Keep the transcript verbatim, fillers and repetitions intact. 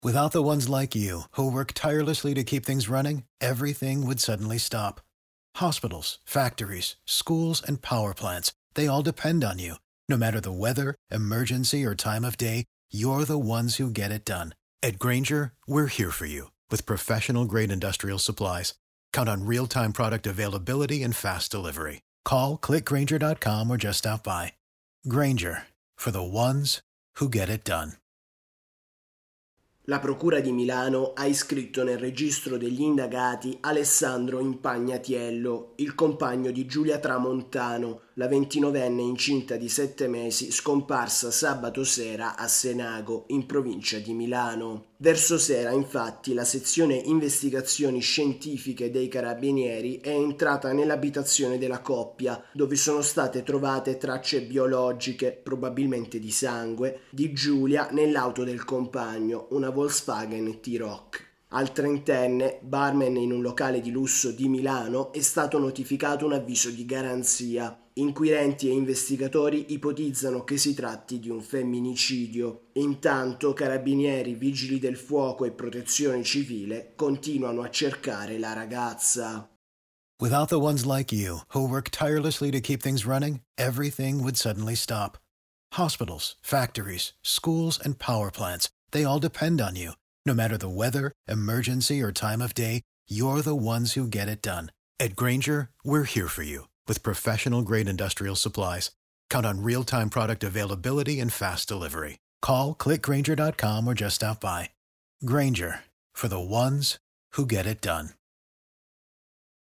Without the ones like you, who work tirelessly to keep things running, everything would suddenly stop. Hospitals, factories, schools, and power plants, they all depend on you. No matter the weather, emergency, or time of day, you're the ones who get it done. At Grainger, we're here for you with professional-grade industrial supplies. Count on real-time product availability and fast delivery. Call, click grainger dot com or just stop by. Grainger, for the ones who get it done. La Procura di Milano ha iscritto nel registro degli indagati Alessandro Impagnatiello, il compagno di Giulia Tramontano, la ventinovenne incinta di sette mesi scomparsa sabato sera a Senago, in provincia di Milano. Verso sera, infatti, la sezione investigazioni scientifiche dei Carabinieri è entrata nell'abitazione della coppia, dove sono state trovate tracce biologiche, probabilmente di sangue, di Giulia nell'auto del compagno, una Volkswagen T-Roc. Al trentenne, barman in un locale di lusso di Milano, è stato notificato un avviso di garanzia. Inquirenti e investigatori ipotizzano che si tratti di un femminicidio. Intanto, carabinieri, vigili del fuoco e protezione civile continuano a cercare la ragazza. Without the ones like you, who work tirelessly to keep things running, everything would suddenly stop. Hospitals, factories, schools, and power plants, they all depend on you. No matter the weather, emergency, or time of day, you're the ones who get it done. At Grainger, we're here for you with professional-grade industrial supplies. Count on real-time product availability and fast delivery. Call, click grainger dot com or just stop by. Grainger, for the ones who get it done.